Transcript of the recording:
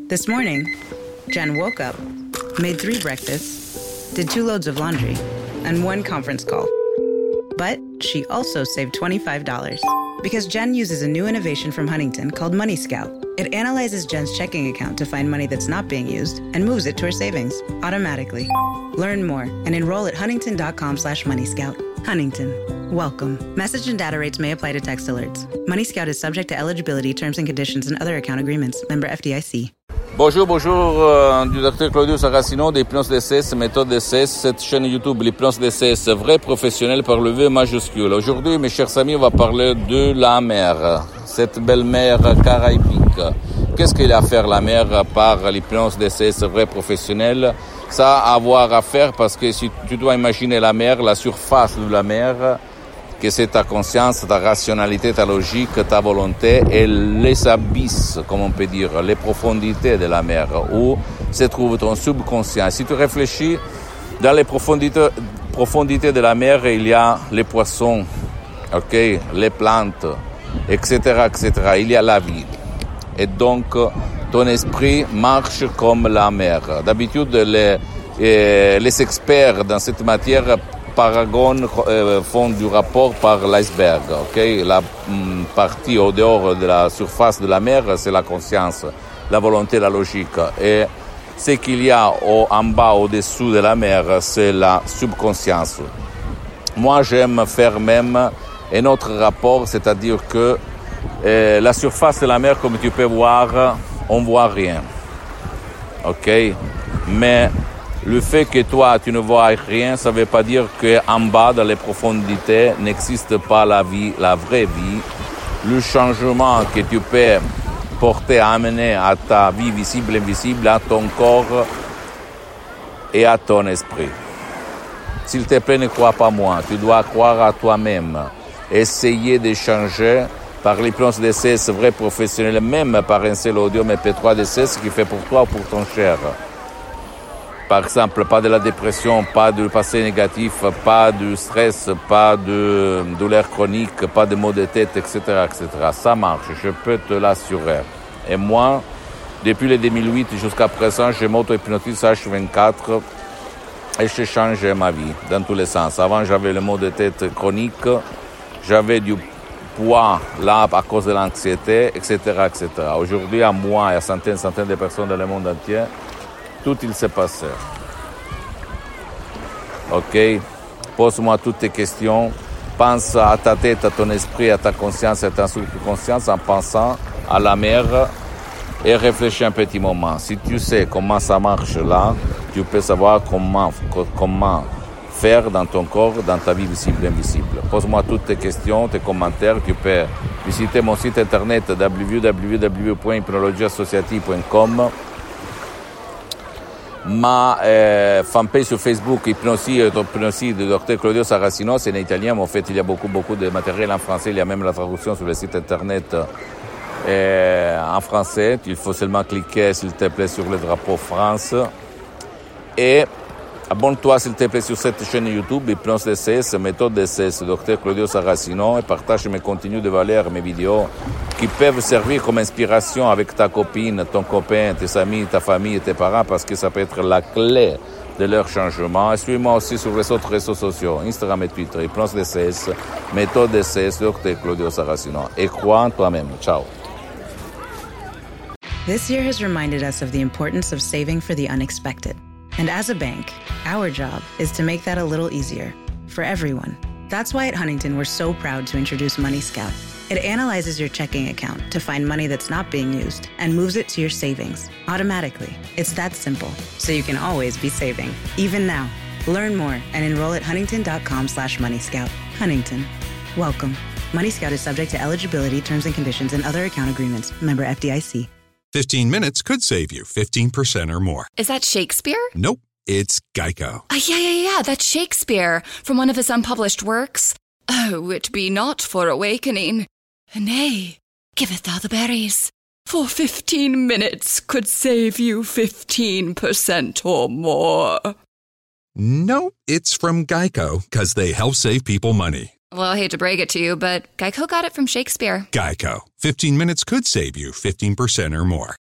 This morning, Jen woke up, made 3 breakfasts, did 2 loads of laundry, and 1 conference call. But she also saved $25 because Jen uses a new innovation from Huntington called Money Scout. It analyzes Jen's checking account to find money that's not being used and moves it to her savings automatically. Learn more and enroll at huntington.com/moneyscout. Huntington. Welcome. Message and data rates may apply to text alerts. Money Scout is subject to eligibility, terms and conditions, and other account agreements. Member FDIC. Bonjour, du docteur Claudio Saracino d'Hypnose DCS, méthode DCS, cette chaîne YouTube, l'hypnose DCS, vrai professionnel par le V majuscule. Aujourd'hui, mes chers amis, on va parler de la mer, cette belle mer caraïbique. Qu'est-ce qu'il a à faire la mer par l'hypnose DCS, vrai professionnel? Ça a à voir à faire parce que si tu dois imaginer la mer, la surface de la mer, que c'est ta conscience, ta rationalité, ta logique, ta volonté et les abysses, comme on peut dire, les profondités de la mer, où se trouve ton subconscient. Si tu réfléchis, dans les profondités de la mer, il y a les poissons, les plantes, etc., etc. Il y a la vie. Et donc, ton esprit marche comme la mer. D'habitude, les experts dans cette matière font du rapport par l'iceberg. La partie au dehors de la surface de la mer, c'est la conscience, la volonté, la logique. Et ce qu'il y a en bas, au-dessous de la mer, c'est la subconscience. Moi, j'aime faire même un autre rapport, c'est-à-dire que la surface de la mer, comme tu peux voir, on voit rien. Mais le fait que toi, tu ne vois rien, ça ne veut pas dire qu'en bas, dans les profondités, n'existe pas la vie, la vraie vie. Le changement que tu peux porter, amener à ta vie visible et invisible, à ton corps et à ton esprit. S'il te plaît, ne crois pas moi. Tu dois croire à toi-même. Essayer de changer par l'hypnose DCS vrai professionnel, même par un seul audio MP3 DCS qui fait pour toi ou pour ton cher. Par exemple, pas de la dépression, pas de passé négatif, pas de stress, pas de douleur chronique, pas de maux de tête, etc., etc. Ça marche, je peux te l'assurer. Et moi, depuis le 2008 jusqu'à présent, je m'auto-hypnotise H24 et j'ai changé ma vie dans tous les sens. Avant, j'avais le maux de tête chronique, j'avais du poids là à cause de l'anxiété, etc., etc. Aujourd'hui, à moi et à centaines de personnes dans le monde entier, tout il s'est passé. Pose-moi toutes tes questions. Pense à ta tête, à ton esprit, à ta conscience et à ta subconscience en pensant à la mer et réfléchis un petit moment. Si tu sais comment ça marche là, tu peux savoir comment faire dans ton corps, dans ta vie visible et invisible. Pose-moi toutes tes questions, tes commentaires. Tu peux visiter mon site internet www.hypnologieassociative.com, ma fanpage sur Facebook, Hypnosie de Dr Claudio Saracino, c'est en italien, mais en fait il y a beaucoup de matériel en français, il y a même la traduction sur le site internet en français. Il faut seulement cliquer, s'il te plaît, sur le drapeau France. Et abonne-toi, s'il te plaît, sur cette chaîne YouTube, Hypnose DCS, méthode DCS, Dr Claudio Saracino, et partage mes contenus de valeur, mes vidéos, qui peuvent servir comme inspiration avec ta copine, ton copain, tes amis, ta famille et tes parents, parce que ça peut être la clé de leur changement. Et suis-moi aussi sur les autres réseaux sociaux, Instagram et Twitter, Hypnose DCS, méthode DCS, Dr Claudio Saracino. Et crois en toi-même. Ciao. This year has reminded us of the importance of saving for the unexpected. And as a bank, our job is to make that a little easier for everyone. That's why at Huntington, we're so proud to introduce Money Scout. It analyzes your checking account to find money that's not being used and moves it to your savings automatically. It's that simple, so you can always be saving, even now. Learn more and enroll at huntington.com/moneyscout. Huntington. Welcome. Money Scout is subject to eligibility, terms and conditions, and other account agreements. Member FDIC. 15 minutes could save you 15% or more. Is that Shakespeare? Nope, it's Geico. Yeah, that's Shakespeare from one of his unpublished works. Oh, it be not for awakening. Nay, giveth thou the berries. For 15 minutes could save you 15% or more. No, it's from Geico, because they help save people money. Well, I hate to break it to you, but Geico got it from Shakespeare. Geico. 15 minutes could save you 15% or more.